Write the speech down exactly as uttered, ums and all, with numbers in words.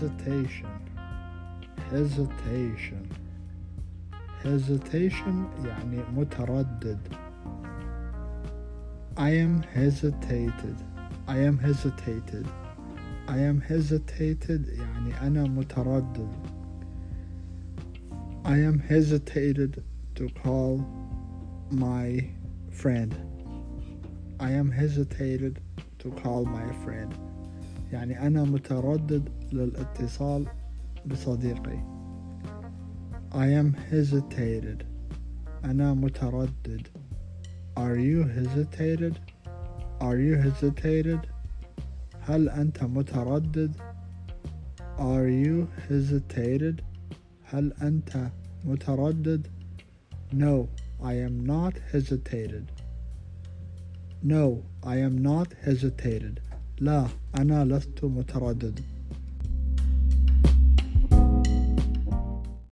hesitation hesitation hesitation يعني متردد. I am hesitated I am hesitated I am hesitated يعني أنا متردد. I am hesitated to call my friend I am hesitated to call my friend يعني أنا متردد للاتصال بصديقي. I am hesitated أنا متردد. Are you hesitated Are you hesitated هل أنت متردد؟ Are you hesitated هل أنت متردد؟ No, I am not hesitated. No, I am not hesitated. لا، أنا لست متردد.